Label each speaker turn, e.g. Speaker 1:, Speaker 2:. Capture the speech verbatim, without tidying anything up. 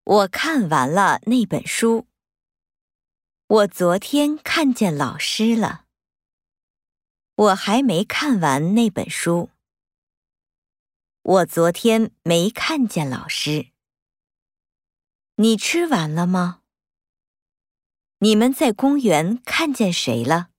Speaker 1: 我看完了那本书。我昨天看见老师了。我还没看完那本书。我昨天没看见老师。你吃完了吗？你们在公园看见谁了？